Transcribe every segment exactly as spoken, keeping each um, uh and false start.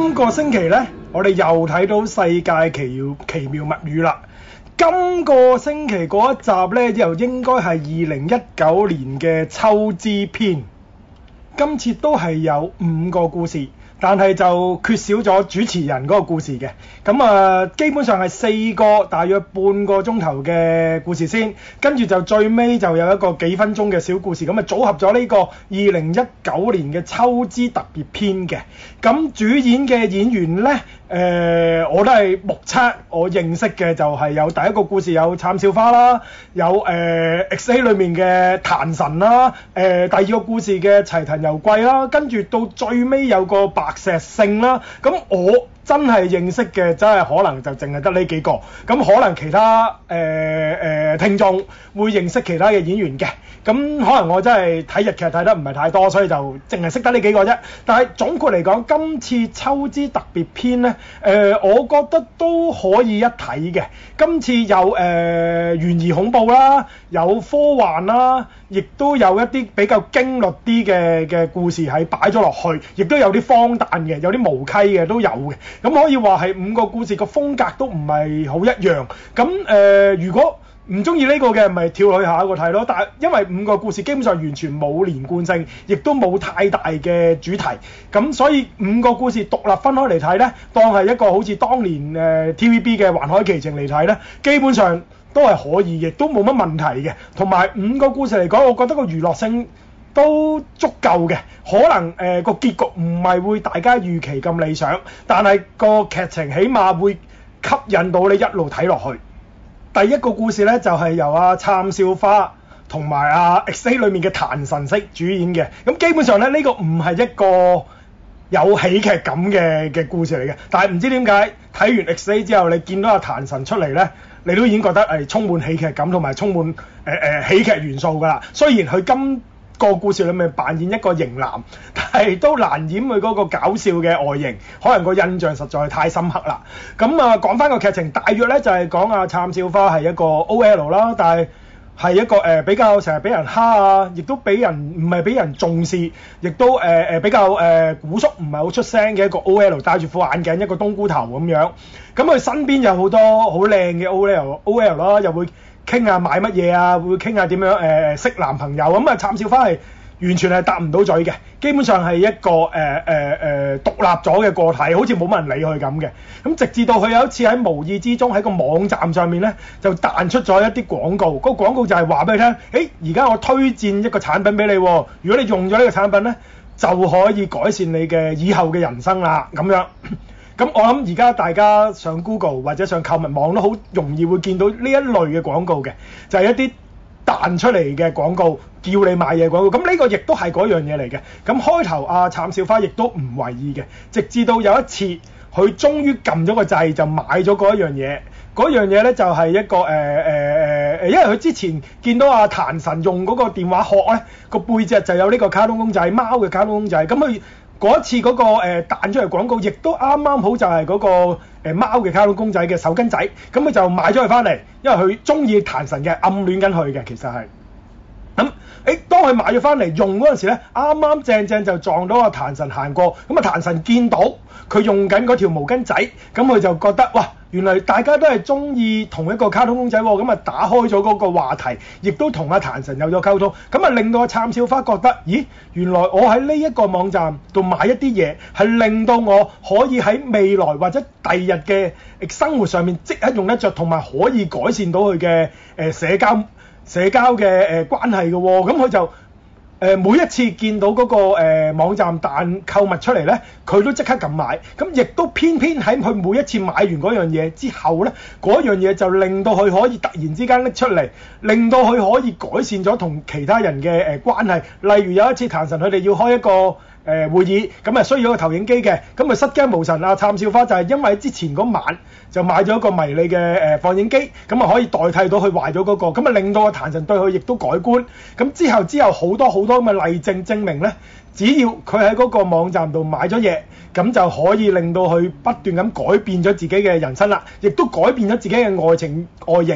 今個星期呢，我哋又睇到世界奇妙奇妙物語啦。今個星期嗰一集呢，又應該係二零一九年嘅秋之篇。今次都係有五個故事，但係就缺少咗主持人嗰個故事嘅。咁啊，基本上係四個大約半個鐘頭嘅故事先，跟住就最尾就有一個幾分鐘嘅小故事，咁啊組合咗呢個二零一九年嘅秋之特別篇嘅。咁主演嘅演員呢，誒、呃、我都係目測我認識嘅就係有第一個故事有杉咲花啦，有誒、呃、X A 裏面嘅檀神啦，誒、呃、第二個故事嘅齊藤由貴啦，跟住到最尾有個白石聖啦。咁我真係認識嘅真係可能就淨係得呢幾個，咁可能其他誒誒、呃呃、聽眾會認識其他嘅演員嘅，咁可能我真係睇日劇睇得唔係太多，所以就淨係識得呢幾個啫。但係總括嚟講，今次秋之特別篇呢，誒、呃、我覺得都可以一睇嘅。今次有誒、呃、懸疑恐怖啦，有科幻啦，亦都有一啲比較驚慄啲嘅嘅故事係擺咗落去，亦都有啲荒誕嘅，有啲無稽嘅都有嘅。咁可以話係五個故事個風格都唔係好一樣。咁誒、呃，如果唔中意呢個嘅，咪跳去下一個睇咯。但係因為五個故事基本上完全冇連貫性，亦都冇太大嘅主題，咁所以五個故事獨立分開嚟睇呢，當係一個好似當年誒、呃、T V B 嘅《環海奇情》嚟睇呢，基本上都係可以，亦都冇乜問題嘅。同埋五個故事嚟講，我覺得個娛樂性都足夠嘅。可能誒、呃、個結局唔係會大家預期咁理想，但係個劇情起碼會吸引到你一路睇落去。第一個故事呢，就係、是、由阿杉咲花同埋阿 X A 裏面嘅檀神色主演嘅。咁基本上呢，呢、這個唔係一個有喜劇感嘅嘅故事嚟嘅。但係唔知點解睇完 X A 之後，你見到阿檀神出嚟呢，你都已經覺得係充滿喜劇感同埋充滿誒誒、呃、喜劇元素㗎啦。雖然佢今個故事裏面扮演一個型男，但係都難掩佢嗰個搞笑嘅外形，可能個印象實在太深刻啦。咁啊，講翻個劇情，大約咧就係講阿杉咲花係一個 O L 啦，但係係一個誒、呃、比較成日俾人蝦啊，亦都俾人唔係俾人重視，亦都誒誒、呃、比較誒、呃、古縮，唔係好出聲嘅一個 O L， 戴住副眼鏡，一個冬菇頭咁樣。咁佢身邊有好多好靚嘅 O L O L 啦，又會傾下買乜嘢啊，會傾下點樣誒、呃、識男朋友咁啊。杉咲花係完全係答唔到嘴嘅，基本上係一個誒誒誒獨立咗嘅個體，好似冇乜人理佢咁嘅。咁直至到佢有一次喺無意之中喺個網站上面咧，就彈出咗一啲廣告。嗰、那個廣告就係話俾你聽，誒而家我推薦一個產品俾你，如果你用咗呢個產品咧，就可以改善你嘅以後嘅人生啦咁樣。咁我諗而家大家上 Google 或者上購物網都好容易會見到呢一類嘅廣告嘅，就係、是、一啲彈出嚟嘅廣告，叫你買嘢廣告。咁呢個亦都係嗰樣嘢嚟嘅。咁開頭阿杉咲花亦都唔為意嘅，直至到有一次佢終於撳咗個掣就買咗嗰一樣嘢。嗰樣嘢咧就係、是、一個誒誒誒誒，因為佢之前見到阿檀神用嗰個電話殼咧，個背脊就有呢個卡通公仔，貓嘅卡通公仔。咁佢嗰一次嗰、那個誒、呃、彈出嚟廣告，亦都啱啱好就係嗰、那個誒、呃、貓嘅卡通公仔嘅手巾仔。咁佢就買咗佢翻嚟，因為佢中意檀神嘅，暗戀緊佢嘅其實係。咁誒，當佢買咗翻嚟用嗰陣時咧，啱啱正正就撞到阿檀神行過。咁啊，檀神見到佢用緊嗰條毛巾仔，咁佢就覺得哇，原來大家都係中意同一個卡通公仔喎。咁啊，打開咗嗰個話題，亦都同阿檀神有咗溝通。咁啊，令到阿杉咲花覺得，咦，原來我喺呢一個網站度買一啲嘢，係令到我可以喺未來或者第二日嘅生活上面即刻用得着，同埋可以改善到佢嘅誒社交。社交嘅誒、呃、關係嘅喎、哦，咁佢就誒、呃、每一次見到嗰、那個誒、呃、網站彈購物出嚟咧，佢都即刻撳買，咁亦都偏偏喺佢每一次買完嗰樣嘢之後咧，嗰樣嘢就令到佢可以突然之間拎出嚟，令到佢可以改善咗同其他人嘅誒、呃、關係。例如有一次檀神佢哋要開一個誒、呃、會議，咁啊需要一個投影機嘅，咁啊失驚無神啊，杉咲花就係因為之前嗰晚就買咗一個迷你嘅誒、呃、放映機，咁啊可以代替到佢壞咗嗰個，咁啊令到個檀神對佢亦都改觀。咁之後之後好多好多咁嘅例證證明咧，只要佢喺嗰個網站度買咗嘢，咁就可以令到佢不斷咁改變咗自己嘅人生啦，亦都改變咗自己嘅愛情外形。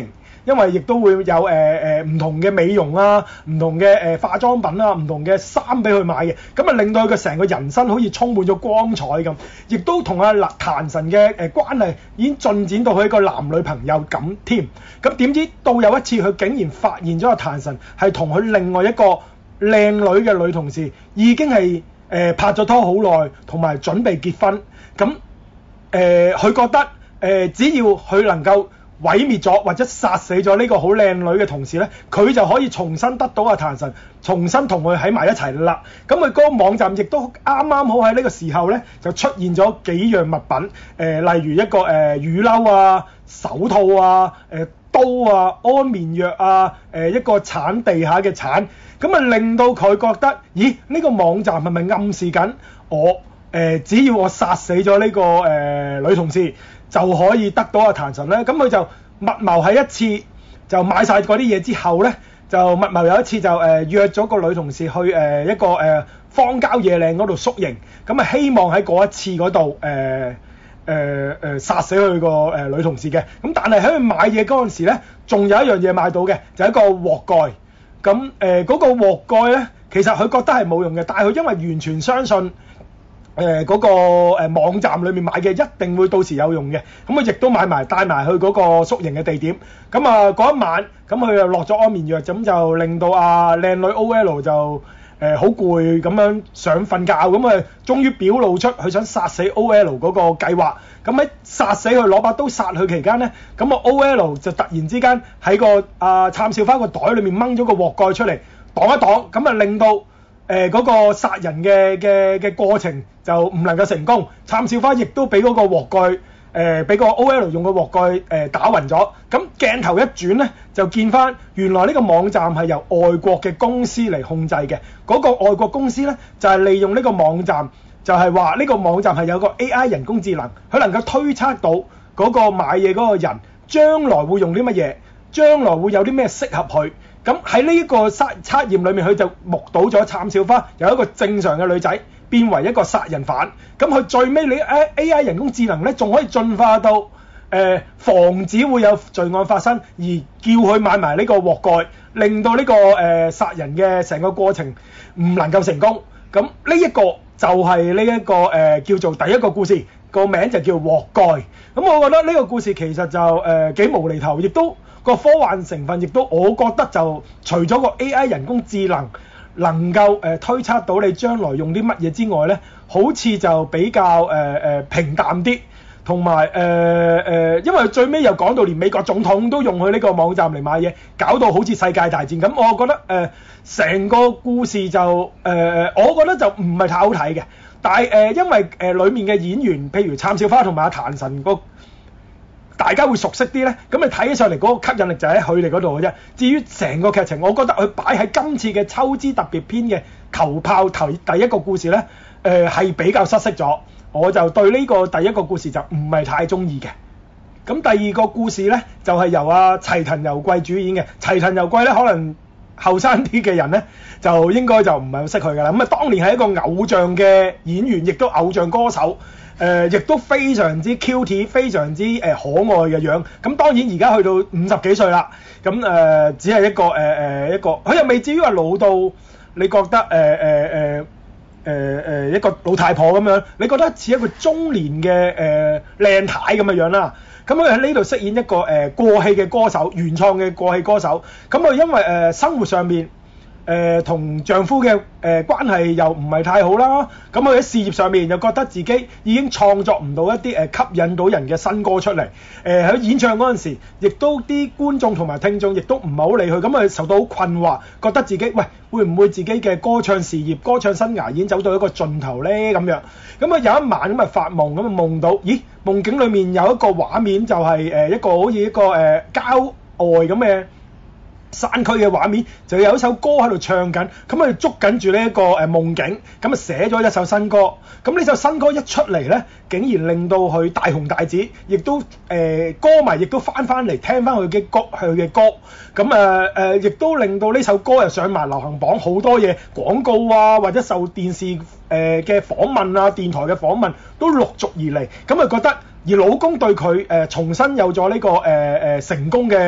因為亦都會有誒誒唔同嘅美容啊、唔同嘅誒、呃、化妝品啊、唔同嘅衫俾佢買嘅，咁啊令到佢嘅成個人生好似充滿咗光彩咁，亦都同阿壇神嘅誒關係已經進展到佢一個男女朋友咁添。咁點知到有一次佢竟然發現咗阿壇神係同佢另外一個靚女嘅女同事已經係誒、呃、拍咗拖好耐，同埋準備結婚。咁誒佢覺得誒、呃、只要佢能夠毀滅咗或者殺死咗呢個好靚女嘅同事呢，佢就可以重新得到阿壇神，重新同佢喺埋一齊啦。咁佢嗰個網站亦都啱啱好喺呢個時候呢，就出現咗幾樣物品，誒、呃、例如一個誒、呃、雨褸啊、手套啊、誒、呃、刀啊、安眠藥啊、誒、呃、一個鏟地下嘅鏟，咁啊令到佢覺得，咦呢、呢個網站係咪暗示緊我誒、呃、只要我殺死咗呢、呢個誒、呃、女同事，就可以得到阿壇神咧？咁佢就密謀喺一次就買晒嗰啲嘢之後咧，就密謀有一次就誒、呃、約咗個女同事去誒、呃、一個誒、呃、荒郊野嶺嗰度宿營，咁啊希望喺嗰一次嗰度誒誒誒殺死佢個誒女同事嘅。咁但係喺佢買嘢嗰陣時咧，仲有一樣嘢買到嘅，就係、一個鍋蓋。咁誒嗰個鍋蓋咧，其實佢覺得係冇用嘅，但係佢因為完全相信。誒嗰、呃那個誒、呃、網站裏面買嘅一定會到時有用嘅，咁佢亦都買埋帶埋去嗰個宿營嘅地點。咁啊嗰一晚，咁佢又落咗安眠藥，咁就令到阿靚女 O L 就誒好攰咁樣想瞓覺，咁啊終於表露出佢想殺死 O L 嗰個計劃。咁喺殺死佢攞把刀殺佢期間咧，咁啊 O L 就突然之間喺個啊杉少花個袋裏面掹咗個鍋蓋出嚟擋一擋，咁啊令到誒嗰、呃那個殺人嘅嘅嘅過程就唔能夠成功，杉少花亦都俾嗰個鍋蓋誒俾個 O L 用個鍋蓋誒、呃、打暈咗。咁鏡頭一轉咧，就見翻原來呢個網站係由外國嘅公司嚟控制嘅。嗰、那個外國公司咧就係、是、利用呢個網站，就係話呢個網站係有個 A I 人工智能，佢能夠推測到嗰個買嘢嗰個人將來會用啲乜嘢，將來會有啲咩適合佢。咁喺呢個測測驗裏面，佢就目睹咗杉少花由一個正常嘅女仔變為一個殺人犯。咁佢最尾你 A I 人工智能咧，仲可以進化到誒、呃、防止會有罪案發生，而叫佢買埋呢個鍋蓋，令到呢、這個誒、呃、殺人嘅成個過程唔能夠成功。咁呢一個就係呢一個誒、呃、叫做第一個故事，個名就叫鍋蓋。咁我覺得呢個故事其實就誒幾、呃、無厘頭，亦都個科幻成分亦都，我覺得就除咗個 A I 人工智能能夠誒、呃、推測到你將來用啲乜嘢之外咧，好似就比較誒誒、呃、平淡啲，同埋誒誒，因為最尾又講到連美國總統都用佢呢個網站嚟買嘢，搞到好似世界大戰咁。我覺得誒成、呃、個故事就誒、呃，我覺得就唔係太好睇嘅。但係誒、呃，因為誒、呃、裡面嘅演員，譬如杉少花同埋阿壇神個。大家會熟悉啲咧，咁你睇起上嚟嗰個吸引力就喺佢哋嗰度嘅啫。至於成個劇情，我覺得佢擺喺今次嘅秋之特別篇嘅球炮頭第一個故事咧，誒、呃、係比較失色咗。我就對呢個第一個故事就唔係太中意嘅。咁第二個故事咧，就係、是、由阿、啊、齊藤由貴主演嘅。齊藤由貴咧，可能後生啲嘅人咧，就應該就唔係好識佢㗎啦。咁啊，當年係一個偶像嘅演員，亦都偶像歌手。誒、呃，亦都非常之 cute， 非常之誒、呃、可愛嘅樣。咁當然而家去到五十幾歲啦，咁誒、呃、只係一個誒誒、呃、一個，佢又未至於話老到你覺得誒誒誒誒誒一個老太婆咁樣，你覺得似一個中年嘅誒靚太咁嘅樣啦。咁佢喺呢度飾演一個誒、呃、過氣嘅歌手，原創嘅過氣歌手。咁佢因為誒、呃、生活上面，誒同、呃、丈夫嘅誒、呃、關係又唔係太好啦，咁佢喺事業上面又覺得自己已經創作唔到一啲誒、呃、吸引到人嘅新歌出嚟，誒、呃、喺演唱嗰陣時，亦都啲觀眾同埋聽眾亦都唔係好理佢，咁佢受到好困惑，覺得自己喂會唔會自己嘅歌唱事業、歌唱生涯已經走到一個盡頭呢？咁樣，咁啊有一晚咁啊發夢，咁啊夢到，咦夢境裡面有一個畫面就係、是、誒、呃、一個好似一個誒、呃、郊外咁嘅山區嘅畫面，就有一首歌喺度唱緊，咁佢捉緊住呢一個誒夢境，咁啊寫咗一首新歌。咁呢首新歌一出嚟呢，竟然令到佢大紅大紫，亦都誒、呃、歌迷亦都翻翻嚟聽翻佢嘅歌，佢嘅歌。咁誒誒，亦都令到呢首歌又上埋流行榜，好多嘢廣告啊，或者受電視誒嘅訪問啊、電台嘅訪問都陸續而嚟。咁啊覺得而老公對佢誒、呃、重新有咗呢、這個誒誒、呃呃、成功嘅。誒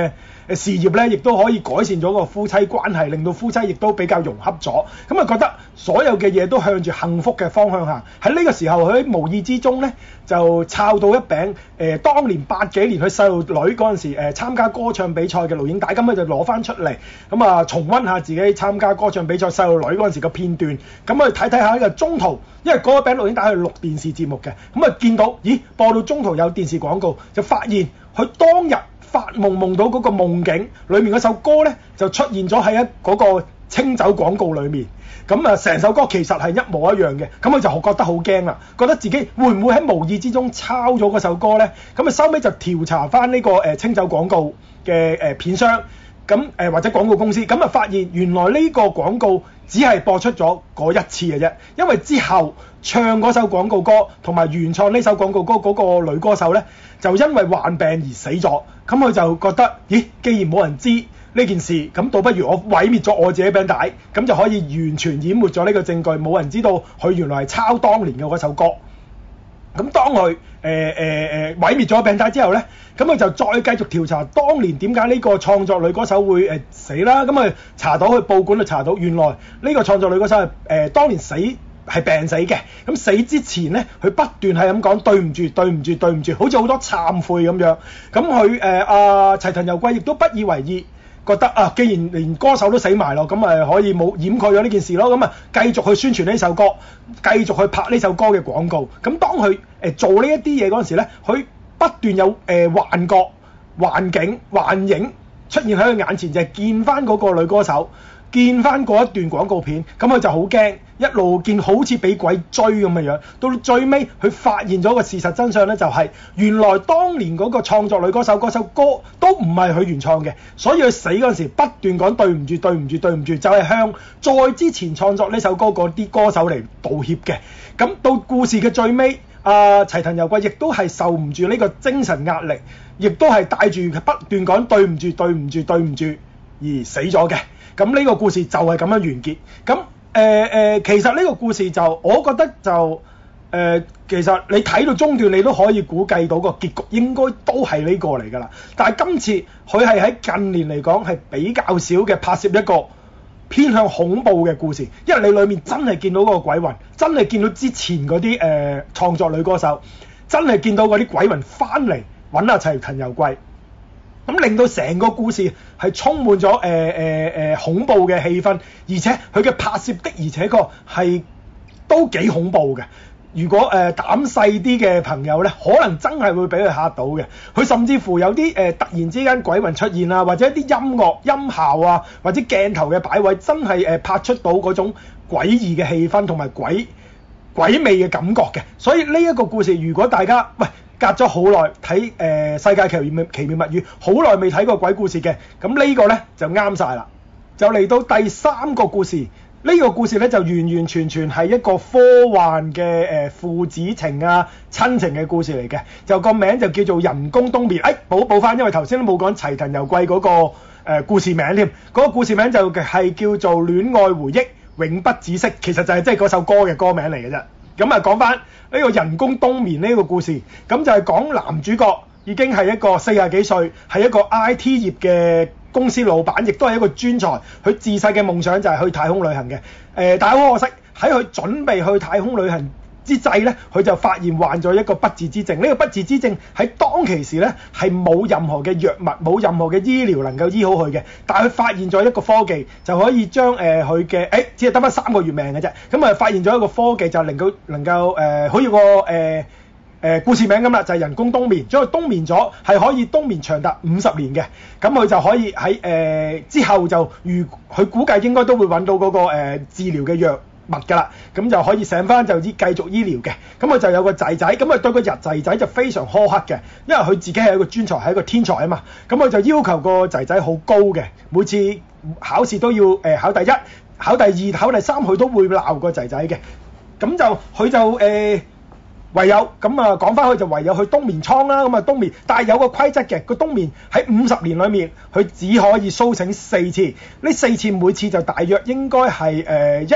誒事業咧，亦都可以改善咗個夫妻關係，令到夫妻亦都比較融洽咗。咁啊覺得所有嘅嘢都向住幸福嘅方向行。喺呢個時候，佢喺無意之中咧就摷到一餅誒、呃，當年八幾年佢細路女嗰陣時誒、呃、參加歌唱比賽嘅錄影帶，咁佢就攞翻出嚟，咁啊重溫下自己參加歌唱比賽細路女嗰陣時嘅片段，咁啊睇睇下呢個中途，因為嗰個餅錄影帶係錄電視節目嘅，咁啊見到咦播到中途有電視廣告，就發現佢當日發夢夢到嗰個夢境裏面嗰首歌咧就出現咗喺一嗰個清酒廣告裏面。咁啊，成首歌其實係一模一樣嘅，咁佢就覺得好驚啦，覺得自己會唔會喺無意之中抄咗嗰首歌呢？咁啊，收尾就調查翻呢個誒清酒廣告嘅誒片商，咁誒或者廣告公司，咁啊發現原來呢個廣告只係播出咗嗰一次嘅啫，因為之後唱嗰首廣告歌同埋原創呢首廣告歌嗰個女歌手呢，就因為患病而死咗，咁佢就覺得，咦，既然冇人知呢件事，咁倒不如我毀滅咗我自己餅帶，咁就可以完全淹沒咗呢個證據，冇人知道佢原來係抄當年嘅嗰首歌。咁當佢誒誒誒毀滅咗餅帶之後呢，咁佢就再繼續調查當年點解呢個創作女歌手會誒、呃、死啦。咁佢查到去報館就查到，原來呢個創作女歌手係誒、呃、當年死係病死嘅。咁死之前呢，佢不斷係咁講對唔住對唔住對唔住，好似好多懺悔咁樣。咁佢誒阿齊藤由貴亦都不以為意。覺得啊，既然連歌手都死埋咯，咁咪可以冇掩蓋咗呢件事咯，咁啊繼續去宣傳呢首歌，繼續去拍呢首歌嘅廣告。咁當佢誒、呃、做呢一啲嘢嗰陣時咧，佢不斷有誒、呃、幻覺、幻境、幻影出現喺佢眼前，就係、是、見翻嗰個女歌手，見翻嗰一段廣告片，咁佢就好驚，一路見好似俾鬼追咁嘅樣。到最尾佢發現咗個事實真相咧，就係、是、原來當年嗰個創作女歌手嗰首歌都唔係佢原創嘅，所以佢死嗰陣時不斷講對唔住對唔住對唔住，就係、是、向再之前創作呢首歌嗰啲歌手嚟道歉嘅。咁到故事嘅最尾，阿、呃、齊藤由貴亦都係受唔住呢個精神壓力，亦都係帶住不斷講對唔住對唔住對唔住而死咗嘅。咁呢個故事就係咁樣完結。咁誒誒，其實呢個故事就我覺得就誒、呃，其實你睇到中段，你都可以估計到個結局應該都係呢個嚟㗎啦。但係今次佢係喺近年嚟講係比較少嘅拍攝一個偏向恐怖嘅故事，因為你裡面真係見到嗰個鬼魂，真係見到之前嗰啲誒創作女歌手，真係見到嗰啲鬼魂翻嚟揾阿齊藤由貴。咁令到成個故事係充滿咗誒誒誒恐怖嘅氣氛，而且佢嘅拍攝的而且確係都幾恐怖嘅。如果誒、呃、膽細啲嘅朋友咧，可能真係會俾佢嚇到嘅。佢甚至乎有啲誒、呃、突然之間鬼魂出現啊，或者一啲音樂音效啊，或者鏡頭嘅擺位，真係誒、呃、拍出到嗰種詭異嘅氣氛同埋鬼鬼魅嘅感覺嘅。所以呢一個故事，如果大家喂，隔咗好耐睇誒世界奇妙奇妙物語，好耐未睇過鬼故事嘅，咁呢個呢就啱晒啦。就嚟到第三個故事，呢、呢個故事呢就完完全全係一個科幻嘅誒、呃、父子情啊親情嘅故事嚟嘅，就個名就叫做人工冬眠。誒補補翻，因為頭先都冇講齊藤由貴嗰、嗰個、呃、故事名添，嗰、嗰個故事名就係叫做戀愛回憶永不止息，其實就係即係嗰首歌嘅歌名嚟嘅啫。咁啊講翻呢個人工冬眠呢個故事，咁就係講男主角已經係一個四十幾歲，係一個 I T 業嘅公司老闆，亦都係一個專才。佢自細嘅夢想就係去太空旅行嘅。誒、呃，但係好可惜，喺佢準備去太空旅行之際咧，佢就發現患咗一個不治之症。呢、這個不治之症喺當其時咧係冇任何嘅藥物，冇任何嘅醫療能夠醫好佢嘅。但係佢發現咗一個科技，就可以將誒佢嘅誒只係得返三個月命嘅啫。咁啊發現咗一個科技，就能夠能夠誒好似個誒誒、呃呃、故事名咁啦，就係、是、人工冬眠。將佢冬眠咗，係可以冬眠長達五十年嘅。咁佢就可以喺誒、呃、之後就如佢估計應該都會揾到嗰、那個、呃、治療嘅藥物㗎啦，咁就可以醒翻就醫繼續醫療嘅。咁佢就有個仔仔，咁佢對個日仔仔就非常苛刻嘅，因為佢自己係一個專才，係一個天才啊嘛。咁佢就要求個仔仔好高嘅，每次考試都要誒、呃、考第一、考第二、考第三，佢都會鬧個仔仔嘅。咁就佢就誒、呃、唯有咁啊講翻，佢就唯有去冬眠倉啦。咁啊冬眠，但係有個規則嘅，個冬眠喺五十年裡面，佢只可以甦醒四次。呢四次每次就大約應該係誒、呃、一日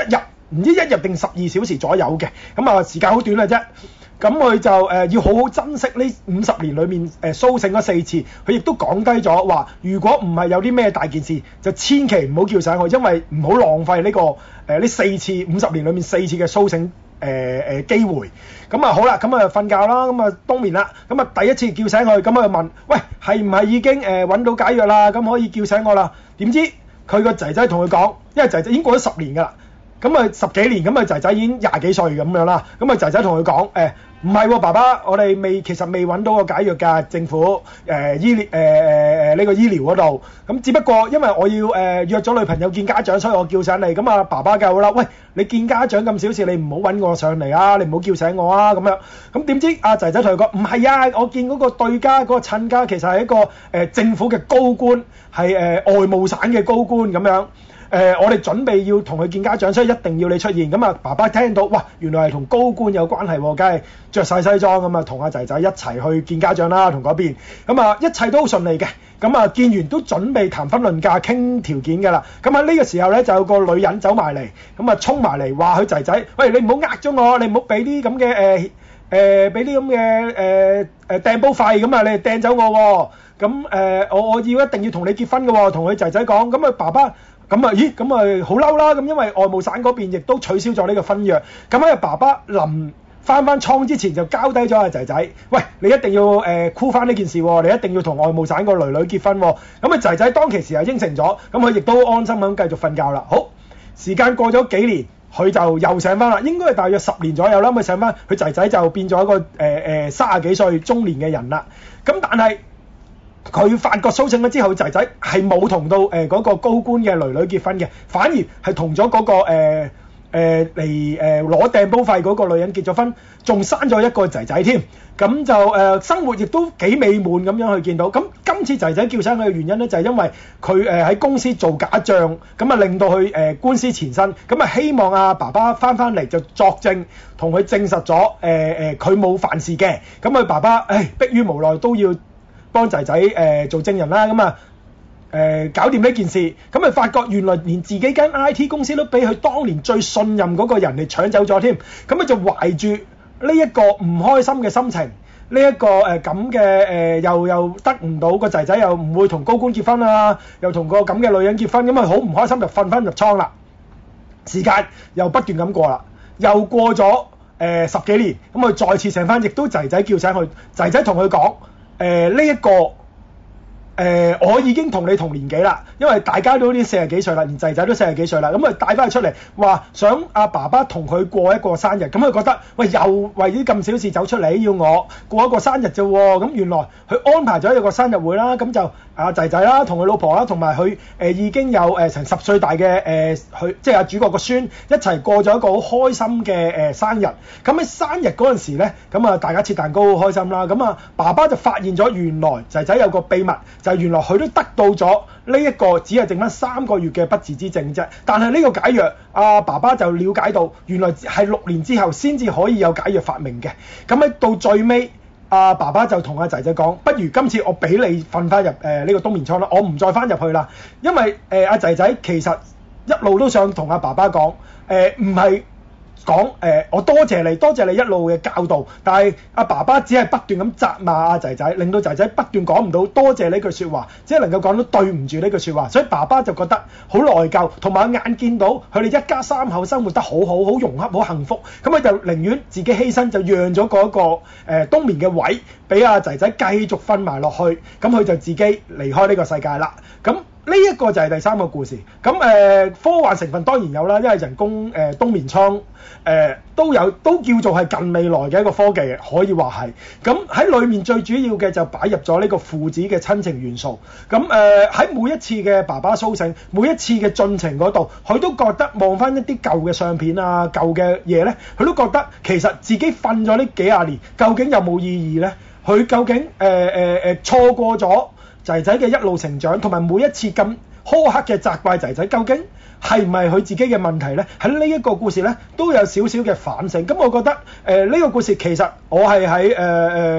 唔知一日定十二小時左右嘅，咁啊時間好短嘅啫。咁佢就誒、呃、要好好珍惜呢五十年裏面誒甦醒嗰四次，佢亦都講低咗話，如果唔係有啲咩大件事，就千祈唔好叫醒佢，因為唔好浪費呢、這個誒呢、呃、四次五十年裏面四次嘅甦醒誒誒、呃、機會。咁啊好啦，咁啊瞓覺啦，咁啊冬眠啦，咁啊第一次叫醒佢，咁啊問，喂，係唔係已經誒揾、呃、到解藥啦？咁可以叫醒我啦？點知佢個仔仔同佢講，因為仔仔已經過咗十年㗎啦。咁啊十幾年，咁啊仔仔已經廿幾歲咁樣啦。咁啊仔仔同佢講，誒唔係喎，爸爸，我哋未其實未揾到個解藥㗎，政府誒、呃、醫療誒誒誒呢個醫療嗰度。咁只不過因為我要誒、呃、約咗女朋友見家長，所以我叫醒你。咁啊爸爸救啦，喂，你見家長咁小事，你唔好揾我上嚟啊，你唔好叫醒我啊咁樣。咁點知阿仔仔同佢講，唔係啊，我見嗰個對家嗰、嗰個親家其實係一個誒、呃、政府嘅高官，係誒、呃、外務省嘅高官咁樣。誒、呃，我哋準備要同佢見家長，所以一定要你出現。咁啊，爸爸聽到，哇，原來係同高官有關係喎，梗係着晒西裝咁啊，同阿仔仔一齊去見家長啦，同嗰邊。咁啊，一切都好順利嘅。咁啊，見完都準備談婚論嫁傾條件㗎啦。咁喺呢個時候咧，就有個女人走埋嚟，咁啊衝埋嚟話佢仔仔，喂，你唔好呃咗我，你唔好俾啲咁嘅誒誒，俾啲咁嘅誒誒掟煲費咁啊，你掟走我喎。咁誒、呃，我我要一定要同你結婚㗎喎，同佢仔仔講。咁啊，爸爸。咁啊，咦，咁啊好嬲啦！咁因為外務省嗰邊亦都取消咗呢個婚約。咁喺爸爸臨翻翻倉之前就交低咗阿仔仔，喂，你一定要誒箍翻呢件事喎，你一定要同外務省個女女結婚喎。咁啊仔仔當其時係應承咗，咁佢亦都安心咁繼續瞓覺啦。好，時間過咗幾年，佢就又醒翻啦，應該係大約十年左右啦。咁佢醒翻，佢仔仔就變咗一個誒誒三十幾歲中年嘅人啦。咁但係佢發覺甦醒咗之後，仔仔係冇同到誒嗰、呃那個高官嘅女女結婚嘅，反而係同咗嗰個誒誒嚟誒攞掟煲費嗰個女人結咗婚，仲生咗一個仔仔添。咁就誒、呃、生活亦都幾美滿咁樣去見到。咁今次仔仔叫醒佢嘅原因咧，就係、是、因為佢誒喺公司做假帳，咁啊令到佢誒、呃、官司纏身，咁啊希望阿、啊、爸爸翻翻嚟就作證，同佢證實咗誒誒佢冇犯事嘅。咁佢爸爸誒迫於無奈都要幫仔仔誒做證人啦，咁啊誒搞掂呢件事，咁咪發覺原來連自己間 I T 公司都俾佢當年最信任嗰個人嚟搶走咗添，咁佢就懷住呢一個唔開心嘅心情，呢、這、一個誒咁嘅誒又又得唔到個仔仔，又唔會同高官結婚啊，又同個咁嘅女人結婚，咁啊好唔開心就瞓翻入倉啦。時間又不斷咁過啦，又過咗誒、呃、十幾年，咁佢再次醒翻，亦都仔仔叫醒佢，仔仔同佢講。誒呢一個誒、呃，我已經同你同年紀啦，因為大家都啲四十幾歲啦，連仔仔都四十幾歲啦，咁啊帶翻佢出嚟，話想阿爸爸同佢過一個生日，咁佢覺得喂又為啲咁小事走出嚟要我過一個生日啫喎，咁原來佢安排咗一個生日會啦，咁就阿仔仔啦，同佢老婆啦，同埋佢誒已經有誒成十歲大嘅誒佢即係阿主角個孫一齊過咗一個好開心嘅誒、呃、生日，咁喺生日嗰陣時咧，咁啊大家切蛋糕好開心啦，咁啊爸爸就發現咗原來仔仔有個秘密。就係原來佢都得到咗呢一個只係剩翻三個月嘅不治之症啫，但係呢個解藥，阿、啊、爸爸就了解到原來係六年之後先至可以有解藥發明嘅。咁喺到最尾，阿、啊、爸爸就同阿仔仔講：不如今次我俾你瞓翻入誒呢、呃這個冬眠倉啦，我唔再翻入去啦。因為誒阿仔仔其實一路都想同阿爸爸講，誒唔係。講誒、呃，我多謝你，多謝你一路嘅教導，但係阿爸爸只係不斷咁責罵阿仔仔，令到仔仔不斷講唔到多謝呢句説話，只係能夠講到對唔住呢句説話，所以爸爸就覺得好內疚，同埋眼見到佢哋一家三口生活得好好，好融洽，好幸福，咁佢就寧願自己犧牲，就讓咗嗰、那個誒、呃、冬眠嘅位俾阿仔仔繼續瞓埋落去，咁佢就自己離開呢個世界啦，咁。呢一個就係第三個故事，咁誒、呃、科幻成分當然有啦，因為人工誒、呃、冬眠倉誒、呃、都有，都叫做係近未來嘅一個科技，可以話係。咁喺裡面最主要嘅就擺入咗呢個父子嘅親情元素。咁誒喺每一次嘅爸爸甦醒，每一次嘅進程嗰度，佢都覺得望翻一啲舊嘅相片啊、舊嘅嘢咧，佢都覺得其實自己瞓咗呢幾廿年，究竟有冇意義咧？佢究竟誒誒誒錯過咗仔仔嘅一路成長，同埋每一次咁苛刻嘅責怪仔仔，究竟係唔係佢自己嘅問題呢？喺呢一個故事呢，都有少少嘅反省。咁我覺得誒呢、呃這個故事其實我係喺誒誒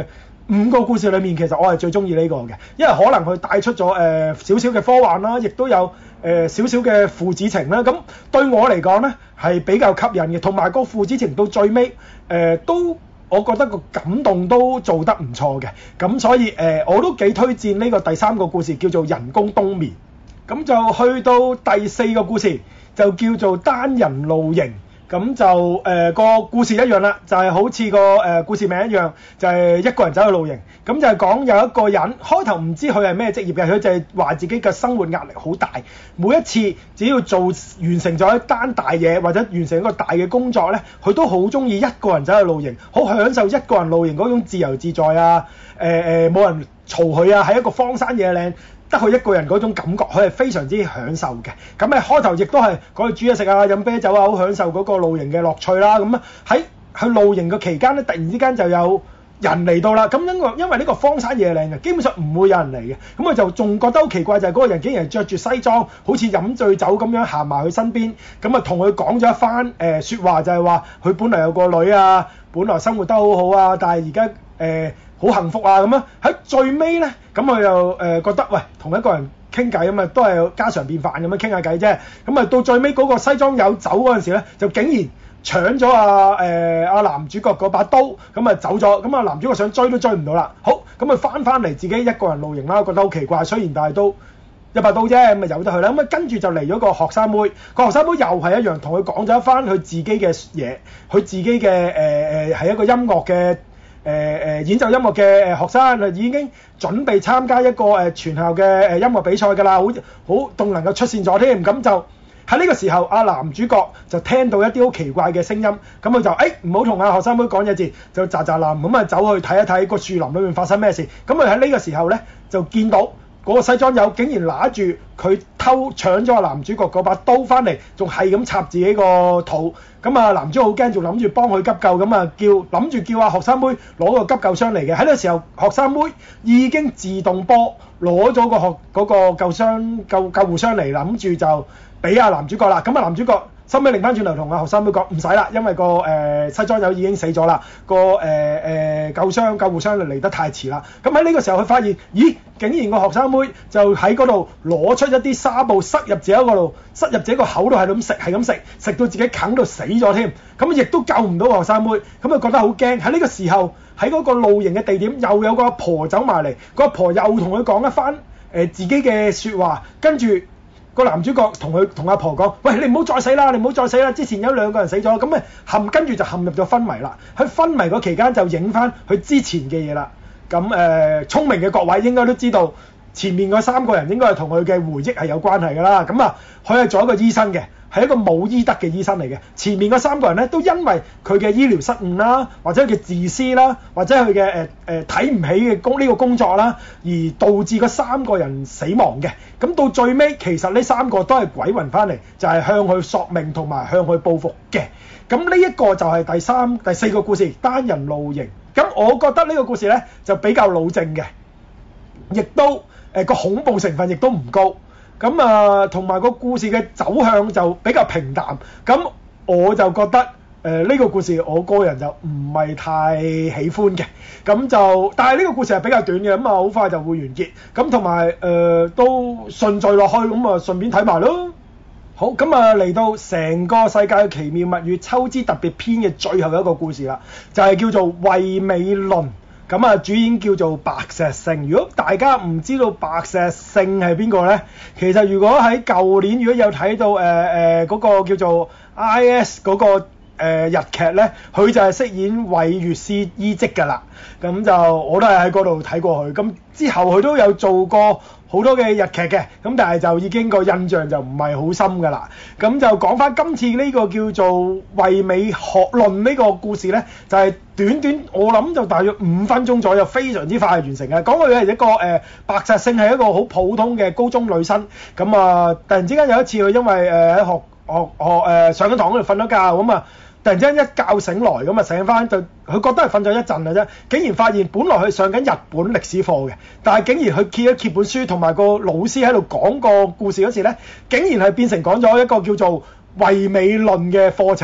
五個故事裏面，其實我係最中意呢個嘅，因為可能佢帶出咗誒少少嘅科幻啦，亦都有誒少少嘅父子情啦。咁對我嚟講呢，係比較吸引嘅，同埋個父子情到最尾誒、呃、都我覺得個感動都做得唔錯嘅。咁所以誒、呃、我都幾推薦呢個第三個故事叫做人工冬眠。咁就去到第四個故事就叫做單人露營。咁就誒、呃、個故事一樣啦，就係、是、好似個誒、呃、故事名一樣，就係、是、一個人走去露營。咁就係講有一個人開頭唔知佢係咩職業嘅，佢就係話自己嘅生活壓力好大，每一次只要做完成咗一單大嘢或者完成一個大嘅工作呢，佢都好中意一個人走去露營，好享受一個人露營嗰種自由自在啊！誒誒冇人嘈佢啊，喺一個荒山野嶺，得佢一個人嗰種感覺，佢係非常之享受嘅。咁誒開頭亦都係講去煮嘢食啊、飲啤酒啊，好享受嗰個露營嘅樂趣啦。咁啊喺去露營嘅期間咧，突然之間就有人嚟到啦。咁因為因為呢個荒山野嶺嘅，基本上唔會有人嚟嘅。咁佢就仲覺得好奇怪，就係、是、嗰個人竟然着住西裝，好似飲醉酒咁樣行埋佢身邊，咁啊同佢講咗一番誒説話，就係話佢本來有個女啊，本來生活得好好啊，但係而家誒好幸福啊咁樣。喺最尾咧，咁佢又誒、呃、覺得喂，同一個人傾偈咁啊，都係家常便飯咁樣傾下偈啫。咁啊到最尾嗰個西裝友走嗰陣時咧，就竟然搶咗阿誒阿男主角嗰把刀，咁啊走咗。咁啊男主角想追都追唔到啦。好，咁啊翻翻嚟自己一個人露營啦，覺得好奇怪。雖然但係都一把刀啫，咁啊由得佢啦。咁啊跟住就嚟咗個學生妹，個學生妹又係一樣，同佢講咗一番佢自己嘅嘢，佢自己嘅誒誒係一個音樂嘅。誒誒、呃、演奏音樂嘅誒學生已經準備參加一個誒、呃、全校嘅誒音樂比賽㗎啦，好好仲能夠出線咗添。咁就喺呢個時候，阿男主角就聽到一啲好奇怪嘅聲音，咁佢就誒唔好同阿學生妹講嘢字，就喳喳林咁啊走去睇一睇個樹林裏面發生咩事。咁佢喺呢個時候咧就見到嗰個西裝友竟然拿住佢偷搶咗阿男主角嗰把刀翻嚟，仲係咁插自己個肚。咁啊男主角好驚，仲諗住幫佢急救，咁啊叫諗住叫阿學生妹攞個急救箱嚟嘅。喺呢個時候，學生妹已經自動波攞咗個學嗰個救傷救救護箱嚟，諗住就俾阿男主角啦。咁啊男主角收尾擰翻轉頭同阿學生妹講唔使啦，因為個誒、呃、西裝友已經死咗啦，個誒誒救傷救護箱嚟得太遲啦。咁喺呢個時候佢發現，咦，竟然個學生妹就喺嗰度攞出一啲紗布塞入自己嗰度，塞入自己個口度，係咁食係咁食，食到自己啃到死咗添。咁亦都救唔到個學生妹，咁佢覺得好驚。喺呢個時候喺嗰個露營嘅地點又有個阿婆走埋嚟，個阿婆又同佢講一番誒、呃、自己嘅説話，跟住。個男主角同佢同阿婆講：喂，你唔好再死啦！你唔好再死啦！之前有兩個人死咗，咁咪陷跟住就陷入咗昏迷啦。喺昏迷嗰期間就影翻佢之前嘅嘢啦。咁誒、呃，聰明嘅各位應該都知道，前面嗰三個人應該係同佢嘅回憶係有關係㗎啦。咁啊，佢係做一個醫生嘅，係一個冇醫德嘅醫生嚟嘅。前面嗰三個人咧，都因為佢嘅醫療失誤啦，或者佢嘅自私啦，或者佢嘅誒誒睇唔起嘅工呢個工作啦，而導致嗰三個人死亡嘅。咁到最尾，其實呢三個都係鬼魂翻嚟，就係、是、向佢索命同埋向佢報復嘅。咁呢一個就係第三、第四個故事，單人露營。咁我覺得呢個故事呢，就比較老正嘅，亦都誒個、呃、恐怖成分亦都唔高。咁啊，同埋個故事嘅走向就比較平淡。咁我就覺得。誒呢、呃這個故事我個人就唔係太喜歡嘅，咁就但係呢個故事係比較短嘅，咁啊好快就會完結，咁同埋誒都順序落去，咁啊順便睇埋咯。好，咁啊嚟到成個世界嘅奇妙物語秋之特別篇嘅最後一個故事啦，就係、是、叫做惠美倫，咁啊主演叫做白石聖。如果大家唔知道白石聖係邊個呢？其實如果喺舊年如果有睇到誒誒嗰個叫做 I S 嗰、那個。誒、呃、日劇咧，佢就係飾演韋月司伊織㗎啦。咁就我都係喺嗰度睇過佢。咁之後佢都有做過好多嘅日劇嘅。咁但係就已經個印象就唔係好深㗎啦。咁就講翻今次呢個叫做惠美學論呢個故事咧，就係、是、短短我諗就大約五分鐘左右，非常之快完成嘅。講佢係一個誒、呃、白石聖係一個好普通嘅高中女生。咁啊，突然之間有一次佢因為誒喺、呃、學學學誒、呃、上緊堂嗰度瞓咗覺咁啊。突然之間一覺醒來咁啊，醒翻就佢覺得係瞓咗一陣嘅啫，竟然發現本來佢上緊日本歷史課嘅，但係竟然佢揭一揭本書，同埋個老師喺度講個故事嗰時咧，竟然係變成講咗一個叫做惠美論嘅課程。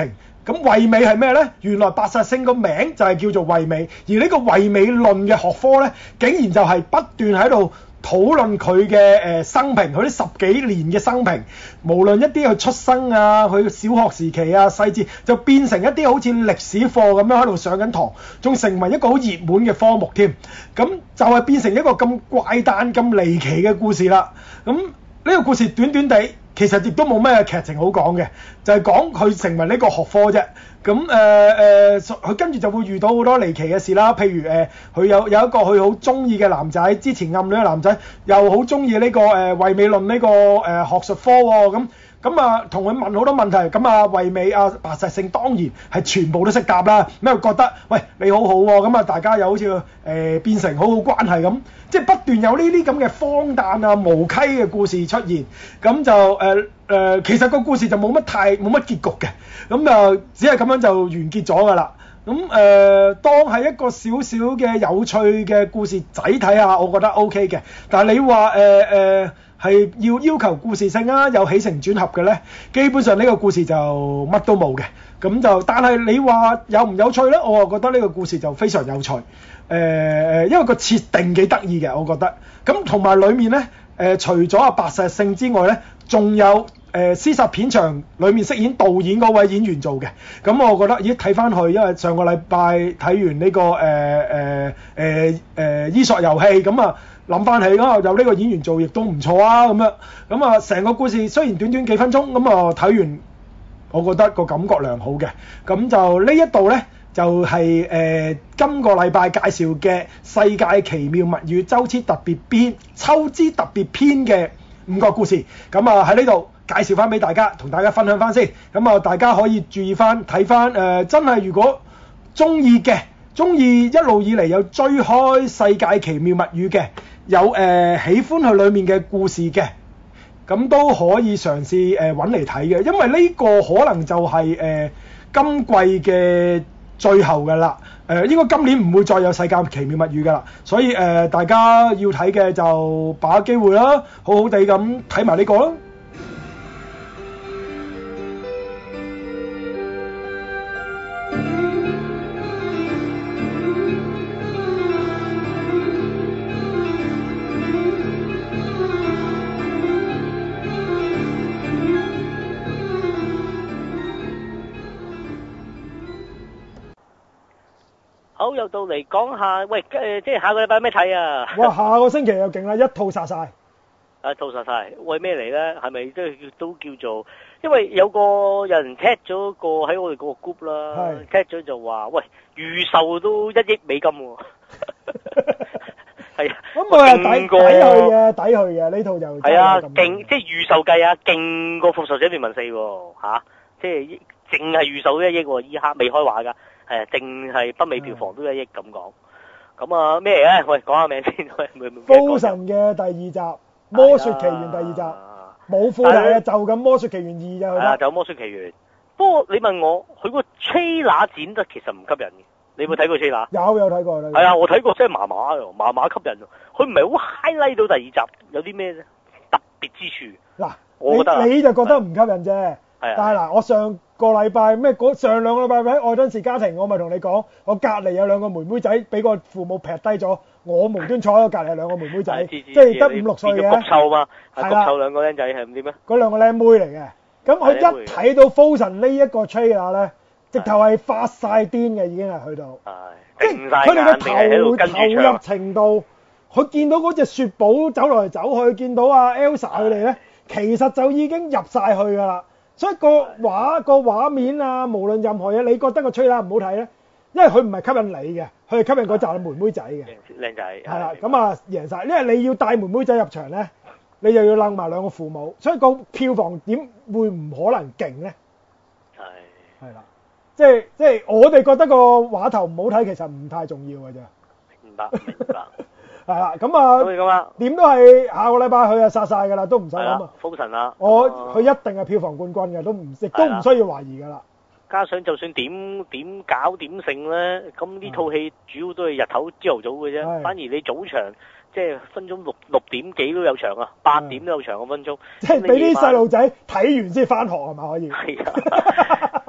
咁惠美係咩呢？原來白石聖個名就係叫做惠美，而呢個惠美論嘅學科呢，竟然就係不斷喺度討論佢嘅誒生平，佢啲十幾年嘅生平，無論一啲佢出生啊，佢小學時期啊細節，就變成一啲好似歷史課咁樣喺度上緊堂，仲成為一個好熱門嘅科目添。咁就係變成一個咁怪誕、咁離奇嘅故事啦。咁呢個故事短短地，其實亦都冇咩劇情好講嘅，就係講佢成為呢個學科啫。咁誒誒，佢跟住就會遇到好多離奇嘅事啦。譬如誒，佢、呃、有有一個佢好中意嘅男仔，之前暗戀嘅男仔，又好中意呢個誒惠美論呢、這個誒、呃、學術科喎、哦。咁咁啊，同佢問好多問題。咁啊，惠美啊，白石聖當然係全部都識答啦。咁又覺得喂你好好、哦、喎，咁啊大家又好似誒、呃、變成好好關係咁，即係不斷有呢啲咁嘅荒誕啊無稽嘅故事出現。咁就誒。呃誒、呃，其實個故事就冇乜太冇乜結局嘅，咁就只係咁樣就完結咗㗎啦。咁誒、呃，當係一個少少嘅有趣嘅故事仔睇下，我覺得 O K 嘅。但係你話誒誒係要要求故事性啊，有起承轉合嘅咧，基本上呢個故事就乜都冇嘅。咁就但係你話有唔有趣咧？我啊覺得呢個故事就非常有趣。誒、呃、誒，因為個設定幾得意嘅，我覺得。咁同埋裡面咧，誒、呃、除咗阿白石聖之外咧，仲有。誒屍殺片場裏面飾演導演嗰位演員做嘅，咁我覺得咦睇翻去，因為上個禮拜睇完呢、這個誒誒誒誒伊索遊戲，咁啊諗翻起啊有呢個演員做亦都唔錯啊咁樣，咁啊成個故事雖然短短幾分鐘，咁啊睇完我覺得個感覺良好嘅，咁就呢一度呢，就係、是、誒、呃、今個禮拜介紹嘅世界奇妙物語周知特別篇秋之特別篇嘅五個故事，咁啊喺呢度。介紹翻俾大家，同大家分享翻先。咁啊，大家可以注意翻睇翻誒，真係如果中意嘅，中意一路以嚟有追開世界奇妙物語嘅，有誒、呃、喜歡佢裡面嘅故事嘅，咁都可以嘗試誒揾嚟睇嘅。因為呢個可能就係、是、誒、呃、今季嘅最後㗎啦。誒、呃、應該今年唔會再有世界奇妙物語㗎啦。所以誒、呃、大家要睇嘅就把握機會啦，好好地咁睇埋呢個啦。 好，又到嚟講下，喂，誒、呃，即係下個禮拜咩睇啊？ 哇，下個星期又勁啦，一套殺晒。 一套殺晒，為咩嚟咧？係咪都都叫做？因為有個有人踢咗個喺我哋嗰個 group 啦，踢咗就話，喂，預售都一億美金喎。係啊， 咁我係抵抵去嘅，抵去嘅呢套就係啊，勁即係預售計啊，勁過復仇者聯盟四喎，嚇，即係淨係預售都一億喎，依刻未開畫㗎。係啊，淨係北美票房都一億咁講，咁啊咩嚟咧？喂，講下名先。喂， 封神嘅第二集《魔雪奇緣》第二集，冇副題啊，就咁《魔雪奇緣二》就係啦。 就《魔雪奇緣》。不過你問我，佢個 trailer 剪得其實唔吸引嘅。你有冇睇過 trailer？有有睇過。 係啊，我睇過，真係麻麻喎，麻麻吸引喎。佢唔係好 highlight 到第二集有啲咩特別之處。嗱，我覺得你你就覺得唔吸引啫。但係嗱，我上個禮拜咩上兩個禮拜喺愛登士家庭，我咪同你講，我隔離有兩個妹妹仔俾個父母劈低咗，我無端坐喺隔離兩個妹妹仔，即係得五六歲嘅。 焗臭嘛， 係啦， 焗臭兩個僆仔係唔知咩？ 嗰兩個僆妹嚟嘅，咁佢一睇到 Frozen 呢一個 trailer 咧，直頭係發晒癲嘅，已經係去到， 即係佢哋嘅投投入程度，佢見到嗰隻雪寶走來走去，見到阿 Elsa 佢哋咧，其實就已經入晒去㗎啦。所以個畫個畫面啊，無論任何嘢，你覺得個吹啦唔好睇咧，因為佢唔係吸引你嘅，佢係吸引嗰紮妹妹仔嘅。 靚仔。係啦，咁啊贏晒，因為你要帶妹妹仔入場咧，你又要擸埋兩個父母，所以個票房點會唔可能勁咧？係。係啦，即係即係我哋覺得個畫頭唔好睇，其實唔太重要嘅啫。 明白，明白。 係啦，咁啊， 咁啊， 點都係下個禮拜佢就殺晒㗎啦，都唔使諗啊。 封神啦， 我佢一定係票房冠軍嘅，都唔亦都唔需要懷疑㗎啦。 加上就算點點搞點勝咧，咁呢套戲主要都係日頭朝頭早嘅啫，反而你早場即係分鐘六六點幾都有場啊，八點都有場個分鐘。 即係俾啲細路仔睇完先翻學係咪可以？ 係啊，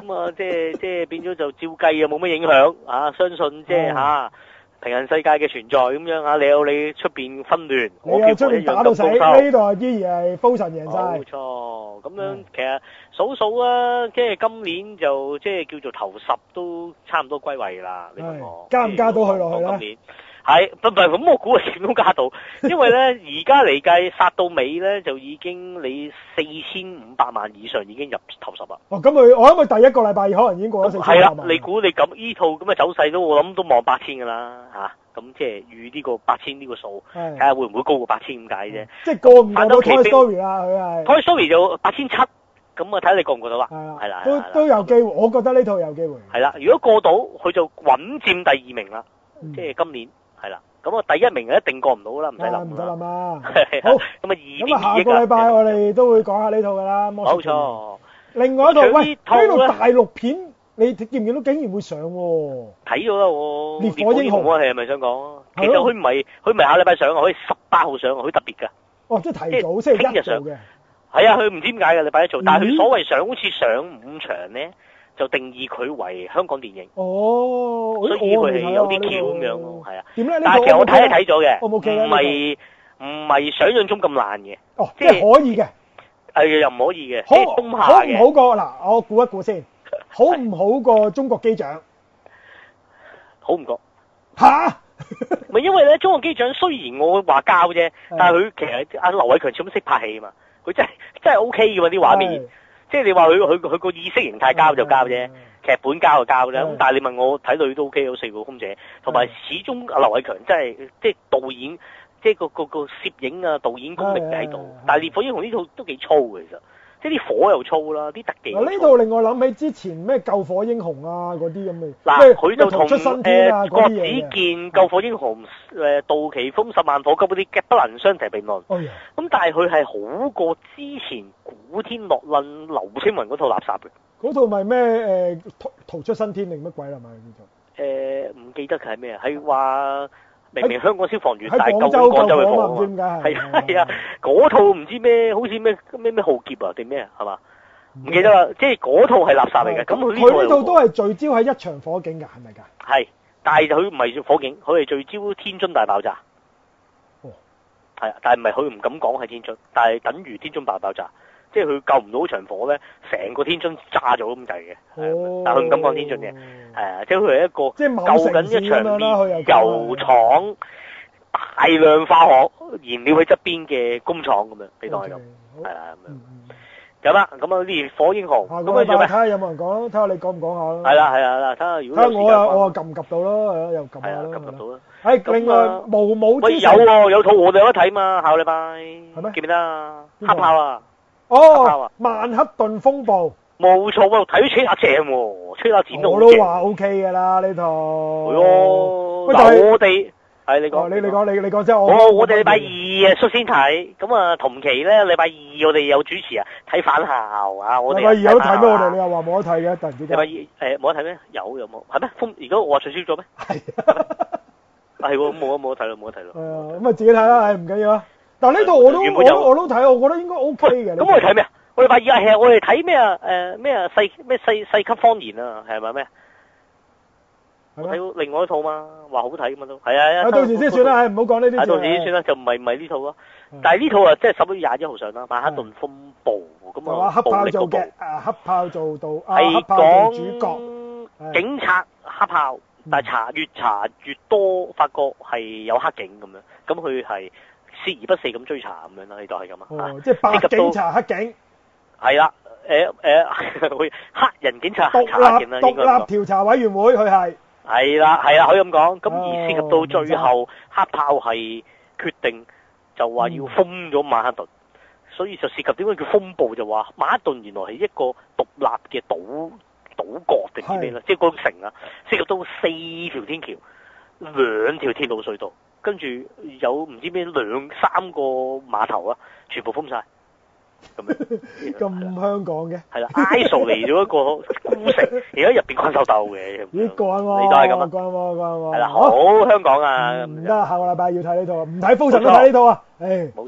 咁啊，即係即係變咗就照計啊，冇乜影響啊，相信即係嚇平行世界嘅存在咁樣啊，你有你出邊紛亂，我你有出邊打到死，呢度依然係封神贏晒。 冇錯，咁樣其實數數啊，即係今年就即係叫做頭十都差唔多歸位啦。你問我加唔加到去落去咧？ 今年係唔係咁？我估係點都加到，因為咧而家嚟計殺到尾咧就已經你四千五百萬以上已經入頭十啦。 哦，咁佢我諗佢第一個禮拜可能已經過咗四千五百萬。 係啦，你估你咁依套咁嘅走勢都我諗都望八千㗎啦嚇。咁即係預呢個八千呢個數，睇下會唔會高過八千咁解啫。 即係過唔過到 Toy Story 啦，佢係。 Toy Story 就八千七，咁啊睇下你過唔過到啦。係啦， 都都有機會，我覺得呢套有機會。 係啦，如果過到，佢就穩佔第二名啦。即係今年係啦，咁啊第一名就一定過唔到啦，唔使諗。 唔使諗啊！ 好，咁啊二咁啊下個禮拜我哋都會講下呢套㗎啦。 冇錯。 另外一套喂，呢套大陸片。你見唔見到竟然會上喎？ 睇咗啦我。 烈火英雄啊，係咪想講？其實佢唔係，佢唔係下禮拜上啊，可以十八號上啊，佢特別㗎。 哦，即係提早星期一做嘅。 係啊，佢唔知點解嘅禮拜一做，但係佢所謂上好似上五場咧，就定義佢為香港電影。 哦， 所以佢係有啲橋咁樣咯，係啊。 點咧？ 但係其實我睇係睇咗嘅， 唔係唔係想象中咁爛嘅。 哦，即係可以嘅。 係又唔可以嘅， 好即係中下嘅。 好唔好過嗱？我估一估先。好唔好過中國機長？ 好唔過吓？ 咪因為咧，中國機長雖然我話交啫，但係佢其實阿劉偉強始終識拍戲啊嘛，佢真係真係 O K 嘅嘛啲畫面，即係你話佢佢佢個意識形態交就交啫，劇本交就交啫。咁但係你問我睇女都 O K，有四個空姐，同埋始終阿劉偉強真係即係導演，即係個個個攝影啊導演功力喺度。但係烈火英雄呢套都幾粗嘅其實。即係啲火又粗啦，啲特技。嗱呢套令我諗起之前咩救火英雄啊嗰啲咁嘅。 嗱，佢就同誒郭子健救火英雄誒杜琪峰十萬火急嗰啲不能相提並論。咁、哎、但係佢係好過之前古天樂論劉青雲嗰套垃圾嘅。 嗰套咪咩誒逃逃出生天定乜鬼啦嘛叫做？ 誒唔記得佢係咩啊？係話。明明香港消防員，但係救廣廣州嘅火啊！ 點解係啊係啊，嗰套唔知咩，好似咩咩咩浩劫啊定咩啊，係嘛？唔記得啦，即係嗰套係垃圾嚟嘅。咁佢呢套佢呢套都係聚焦喺一場火警㗎，係咪㗎？ 係，但係佢唔係火警，佢係聚焦天津大爆炸。哦，係啊，但係唔係佢唔敢講係天津，但係等於天津大爆炸。即係佢救唔到場火咧，成個天津炸咗咁滯嘅，但係佢唔敢講天津嘅，係啊，即係佢係一個救緊一場煉油廠大量化學燃料喺側邊嘅工廠咁樣，你當係咁，係啊咁樣。咁啦，咁啊烈火英雄，咁啊做咩？ 睇下有冇人講，睇下你講唔講下咯。 係啦係啦，睇下如果睇下我啊我啊撳唔撳到咯，係咯又撳下咯。 撳唔撳到啦？ 誒，另外無武之神有喎，有套我哋有得睇嘛，下個禮拜係咩？ 記唔記得啊？黑豹啊！ 哦，曼克頓風暴， 冇錯喎，睇咗吹下正喎，吹下剪到我都話 O K 㗎啦呢套。 係咯，嗱我哋係你講， 你你講你你講即係我。 我我哋禮拜二啊率先睇，咁啊同期咧禮拜二我哋有主持啊睇返校啊，我哋禮拜二有得睇咩？我哋你又話冇得睇嘅，突然之間。 禮拜二誒冇得睇咩？有有冇？係咩？風而家我話取消咗咩？係。係喎，冇啊冇得睇咯，冇得睇咯。 係啊，咁啊自己睇啦，誒唔緊要啊。但呢套我都我我都睇，我覺得應該 O K 嘅。 咁我哋睇咩啊？我哋禮拜二係我哋睇咩啊？誒咩啊？細咩細細級方言啊？係咪咩？我睇另外一套嘛，話好睇嘛都。係啊。 到時先算啦，唔好講呢啲。 到時先算啦，就唔係唔係呢套咯。但係呢套啊，即係十一月廿一號上啦，《曼克頓風暴》咁啊， 暴力嗰部。啊，黑豹做到啊，黑豹做主角。 警察黑豹，但係查越查越多，發覺係有黑警咁樣，咁佢係。鍥而不捨咁追查咁樣啦，呢度係咁啊！ 哦，即係白警查黑警。係啦，誒誒，會黑人警察獨查黑警啦，應該。 獨立調查委員會佢係。 係啦係啦，可以咁講。咁而涉及到最後，黑豹係決定就話要封咗曼克頓，所以就涉及點解叫風暴，就話曼克頓原來係一個獨立嘅島島國定唔知咩啦，即係嗰個城啊，涉及到四條天橋、兩條鐵路隧道。跟住有唔知咩兩三個碼頭啊，全部封晒。咁樣。 咁香港嘅。係啦 ，I S O 嚟咗一個孤城，而家入邊困獸鬥嘅。 咦，慣喎。 你都係咁啊？ 慣喎，慣喎。 係啦，好香港啊！ 唔得，下個禮拜要睇呢套，唔睇《封神》都睇呢套啊！誒。 冇錯。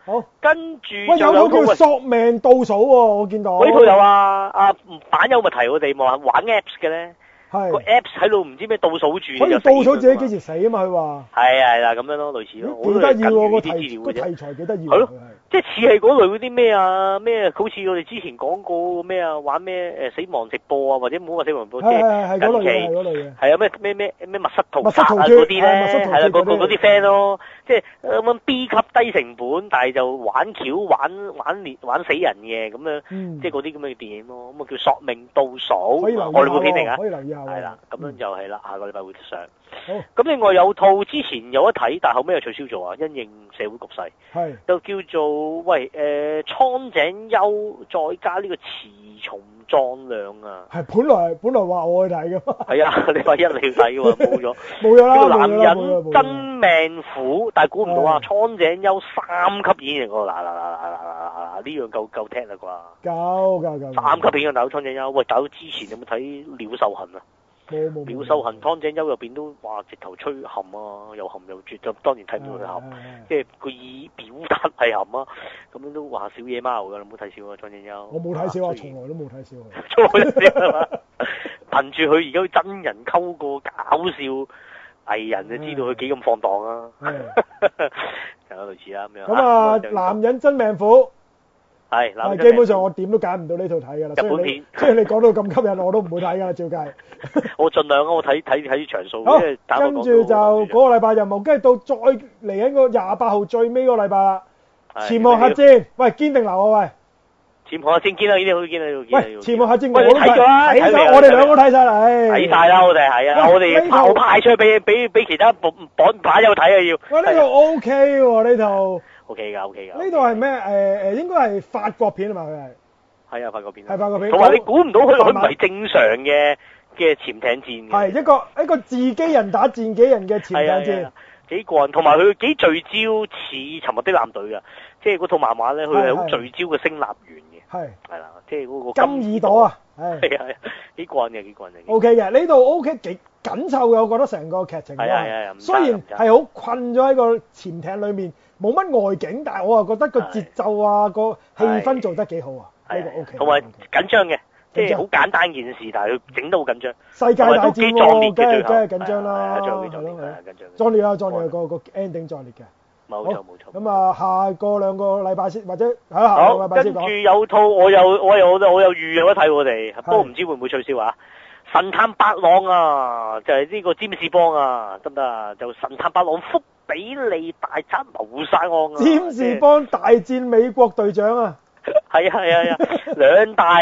好， 跟住喂，有有套套叫索命倒數喎，我見到。 呢套有啊，阿版友咪提我哋話玩 Apps 嘅咧。個係。 Apps 喺度唔知咩倒數住， 可以倒數自己幾時死啊嘛？佢話。 係啊係啦，咁樣咯，類似咯。 幾得意喎個啲資題個料嘅啫。 題材幾得意。 係咯，即係似係嗰類嗰啲咩啊咩，好似我哋之前講過咩啊，玩咩誒死亡直播啊，或者唔好話死亡直播，即係近期嗰類嘅。 係啊咩咩咩咩密室逃密室逃殺啊脫嗰啲咧，係啦嗰嗰嗰啲 friend 咯，即係咁樣 B 級低成本，但係就玩橋玩玩連玩死人嘅咁樣，即係嗰啲咁嘅電影咯，咁啊叫索命倒數， 可以留意我哋部片嚟㗎， 可以留意下。 係啦，咁樣就係啦，下個禮拜會上。 好。 咁另外有套之前有得睇，但後尾又取消咗啊，因應社會局勢。 係。 就叫做喂誒蒼井優再加呢個雌雄壯亮啊！ 係本來本來話我去睇㗎嘛。 係啊，禮拜一你要睇㗎嘛，冇咗。 冇咗啦。 呢個男人真命苦，但係估唔到啊！蒼井優三級演員喎，嗱嗱嗱嗱嗱嗱嗱呢樣夠夠聽啦啩？ 夠夠夠。 三級演員大佬蒼井優，喂大佬之前有冇睇《鳥獸痕》啊？ 冇冇。 鳥獸痕蒼井優入邊都話直頭吹含啊，又含又絕，就當然睇唔到佢含，即係佢以表達係含啊，咁樣都話小野貓㗎，你唔好睇小啊蒼井優。 我冇睇小啊，從來都冇睇小啊。 從來都係嘛？憑住佢而家真人溝個搞笑藝人，就知道佢幾咁放蕩啊！就有類似啦咁樣。 咁啊，男人真命苦。 係，嗱， 基本上我點都揀唔到呢套睇㗎啦。 日本片， 雖然你講到咁吸引，我都唔會睇㗎啦，照計。 我盡量啊，我睇睇睇場數。 好，跟住就嗰個禮拜任務，跟住到再嚟緊個廿八號最尾嗰個禮拜啦。潛航核戰，喂，堅定流啊喂！ 潛航核戰堅啊，呢啲好堅啊，呢個堅。 喂，潛航核戰我都睇咗啦， 睇咗，我哋兩個睇晒啦，唉。 睇晒啦，我哋係啊，我哋派派出去俾俾俾其他綁綁牌友睇啊要。 喂，呢套 O K 喎，呢套。O K 㗎，O K 㗎。 呢度係咩？誒誒，應該係法國片啊嘛，佢係。係啊，法國片。 係法國片。 同埋你估唔到佢佢唔係正常嘅嘅潛艇戰嘅。 係一個一個自己人打自己人嘅潛艇戰。 幾過癮，同埋佢幾聚焦似沉默的艦隊㗎，即係嗰套漫畫咧，佢係好聚焦嘅聲納員嘅。係。係啦，即係嗰個金耳朵啊！係。係啊，幾過癮嘅，幾過癮嘅。 O K 嘅，呢度 O K 幾緊湊嘅，我覺得成個劇情。係啊係啊。雖然係好困咗喺個潛艇裡面。冇乜外景，但係我又覺得個節奏啊、個氣氛做得幾好啊，呢個 O K。 同埋緊張嘅，即係好簡單件事，但係佢整得好緊張。 世界大戰喎，梗係梗係緊張啦， 係咯，係咯，緊張。 壯烈啊，壯烈個個 ending 壯烈嘅。 冇錯冇錯。 咁啊，下個兩個禮拜先，或者喺下個禮拜先講。 跟住有套我又我又我又預有得睇我哋，不過唔知會唔會取消啊？神探八郎啊，就係呢個占士邦啊，得唔得啊？就神探八郎福比利大宅謀殺案啊！ 占士邦大戰美國隊長啊！ 係啊係啊係啊！兩大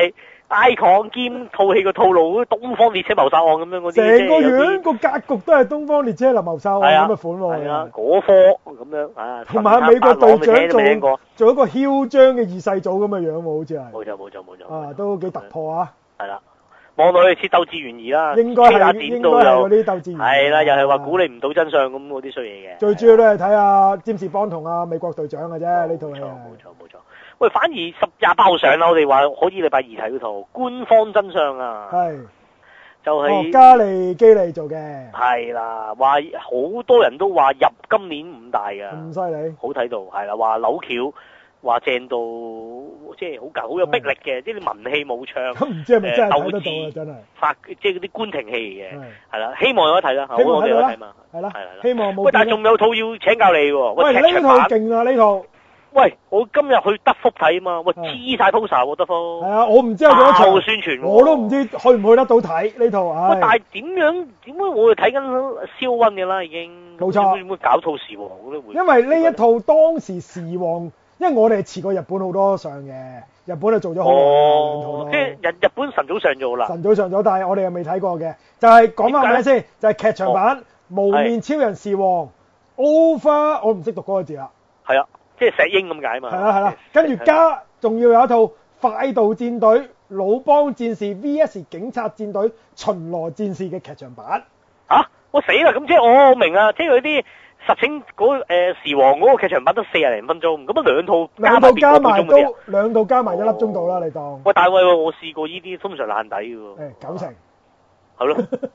icon 兼套戲個套路，東方列車謀殺案咁樣嗰啲， 成個樣個格局都係東方列車謀殺案咁嘅款喎。係啊， 嗰科咁樣啊。 同埋美國隊長做做一個囂張嘅二世祖咁嘅樣喎，好似係。冇錯冇錯冇錯。 啊，都幾突破啊！ 係啦。望落去似鬥智懸疑啦， 應該係應該係嗰啲鬥智懸疑。係啦，又係話估你唔到真相咁嗰啲衰嘢嘅。 最主要都係睇下占士邦同阿美國隊長嘅啫，呢套戲。冇錯冇錯冇錯。喂，反而十廿八號上啦，我哋話可以禮拜二睇嗰套官方真相啊。係。就係。 加利基利做嘅。係啦，話好多人都話入今年五大㗎。 咁犀利。 好睇到，係啦，話扭橋。話正到即係好夠好有逼力嘅，即係啲文戲武唱， 咁唔知係咪真係睇得到啊？真係發即係嗰啲官廷戲嚟嘅，係啦，希望有得睇啦， 希望我哋有得睇嘛， 係啦， 係啦， 希望冇。 喂，但係仲有套要請教你喎， 喂，呢套勁啊！呢套， 喂，我今日去德福睇啊嘛，喂，黐晒 poster 喎德福。 係啊，我唔知有幾多場宣傳， 我都唔知去唔去得到睇呢套。喂， 但係點樣點解我哋睇緊燒溫嘅啦已經？ 冇錯。 點會搞套時王嗰啲會？ 因為呢一套當時時王。因為我哋遲過日本好多上嘅，日本就做咗好耐兩套咯。 即係日日本晨早上咗啦。 晨早上咗，但係我哋又未睇過嘅。就係講翻咩先？就係劇場版《無面超人時王》Over，我唔識讀嗰個字啦。 係啊，即係石英咁解嘛。 係啦係啦，跟住加仲要有一套快道戰隊魯邦戰士 V S 警察戰隊巡邏戰士嘅劇場版。 嚇！我死啦！咁即係我明啊，即係嗰啲。實情嗰誒時王嗰個劇場版得四廿零分鐘，咁啊兩套兩套加埋都兩套加埋一粒鐘到啦，你當。 喂，大衛喎，我試過呢啲通常爛底嘅喎。 誒九成。 係咯。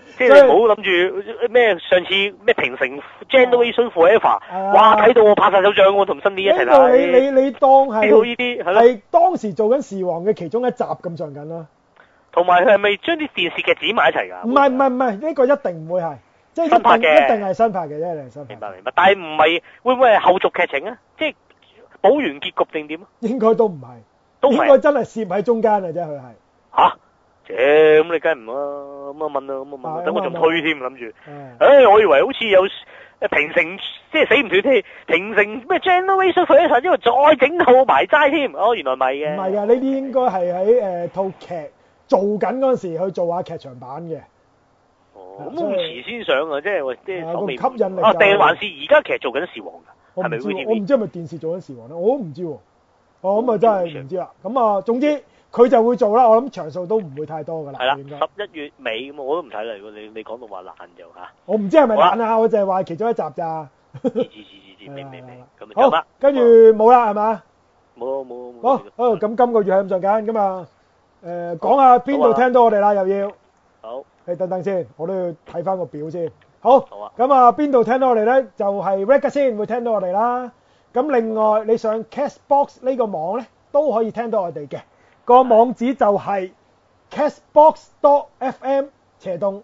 即係你唔好諗住咩上次咩平成 Generation Forever，哇睇到我拍晒手掌喎，同新啲一齊睇。 你你你當係呢套呢啲係咯， 係當時做緊時王嘅其中一集咁上緊啦。 同埋佢係咪將啲電視劇剪埋一齊㗎？ 唔係唔係唔係，呢個一定唔會係，即係一新拍嘅定一定係新拍嘅，一定係新拍。 明白明白，但係唔係會唔會係後續劇情啊？即係補完結局定點啊？ 應該都唔係， 都唔係應該真係攝喺中間嘅啫，佢係。 嚇！啫咁你梗係唔啦，咁啊問啦，咁啊問，等我仲推添諗住。誒，我以為好似有誒平成，即係死唔斷添，平成咩 Generation Forever，因為再整套埋齋添。哦，原來唔係嘅。唔係㗎，呢啲應該係喺誒套劇做緊嗰陣時去做下劇場版嘅。 哦，咁咁遲先上啊，即係即係口味吸引力啊，定還是而家其實做緊時王㗎？係咪 V T V？ 我唔知係咪電視做緊時王咧，我都唔知喎。哦，咁啊真係唔知啦。咁啊，總之佢就會做啦。我諗場數都唔會太多㗎啦。係啦，十一月尾咁我都唔睇啦。如果你你講到話爛就嚇。我唔知係咪爛啊，我就係話其中一集咋。知知知知知，明明明。咁好，跟住冇啦係嘛？冇冇冇。好，好咁今個月係咁上緊咁啊。誒講下邊度聽到我哋啦，又要。好。你等等先，我都要睇翻個表先。好。好啊。咁啊，邊度聽到我哋咧？就係 Ragazine 先會聽到我哋啦。咁另外你上 Castbox 呢個網咧，都可以聽到我哋嘅。個網址就係 castbox dot fm 斜洞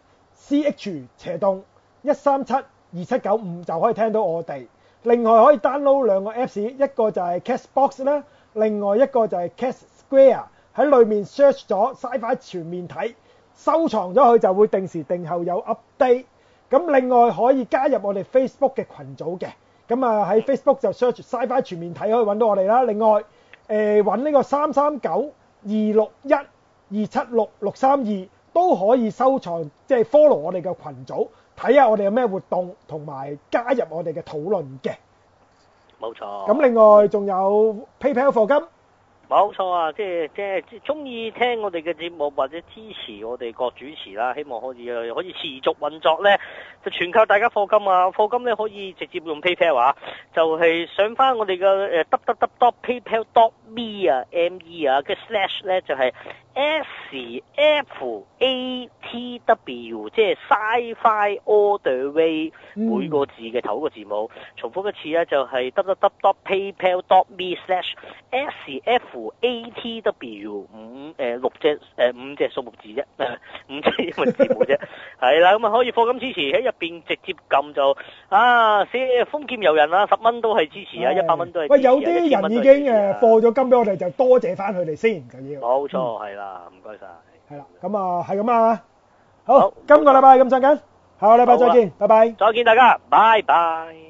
ch 斜洞一三七二七九五就可以聽到我哋。另外可以 download 兩個 Apps， 一個就係 Castbox 啦，另外一個就係 Cast Square。喺裏面 search 咗 Sci-Fi 全面睇，收藏咗佢就會定時定候有 update。咁另外可以加入我哋 Facebook 嘅群組嘅。咁啊喺 Facebook 就 search Sci-Fi 全面睇可以揾到我哋啦。另外誒揾呢個三三九二六一二七六六三二都可以收藏，即係 follow 我哋嘅群組，睇下我哋有咩活動，同埋加入我哋嘅討論嘅。冇錯。咁另外仲有 PayPal 課金。冇錯啊，即係即係中意聽我哋嘅節目或者支持我哋各主持啦，希望可以可以持續運作咧，就全靠大家課金啊！課金咧可以直接用 PayPal 啊，就係上翻我哋嘅誒 w w w dot paypal dot me 啊 ，M E 啊，嘅 slash 咧就係 S F A T W， 即係 Sci-Fi All the Way，每個字嘅頭一個字母，重複一次咧就係 w w w dot paypal dot me slash S F A T W 五誒六隻誒五隻數目字啫，五隻英文字母啫，係啦，咁啊可以課金支持喺入邊直接撳就啊寫封劍遊人啊，十蚊都係支持啊，一百蚊都係支持。喂，有啲人已經誒課咗金俾我哋，就多謝翻佢哋先就要。冇錯，係啦，唔該晒。係啦，咁啊係咁啊，好，今個禮拜咁上緊，下個禮拜再見，拜拜。再見大家，拜拜。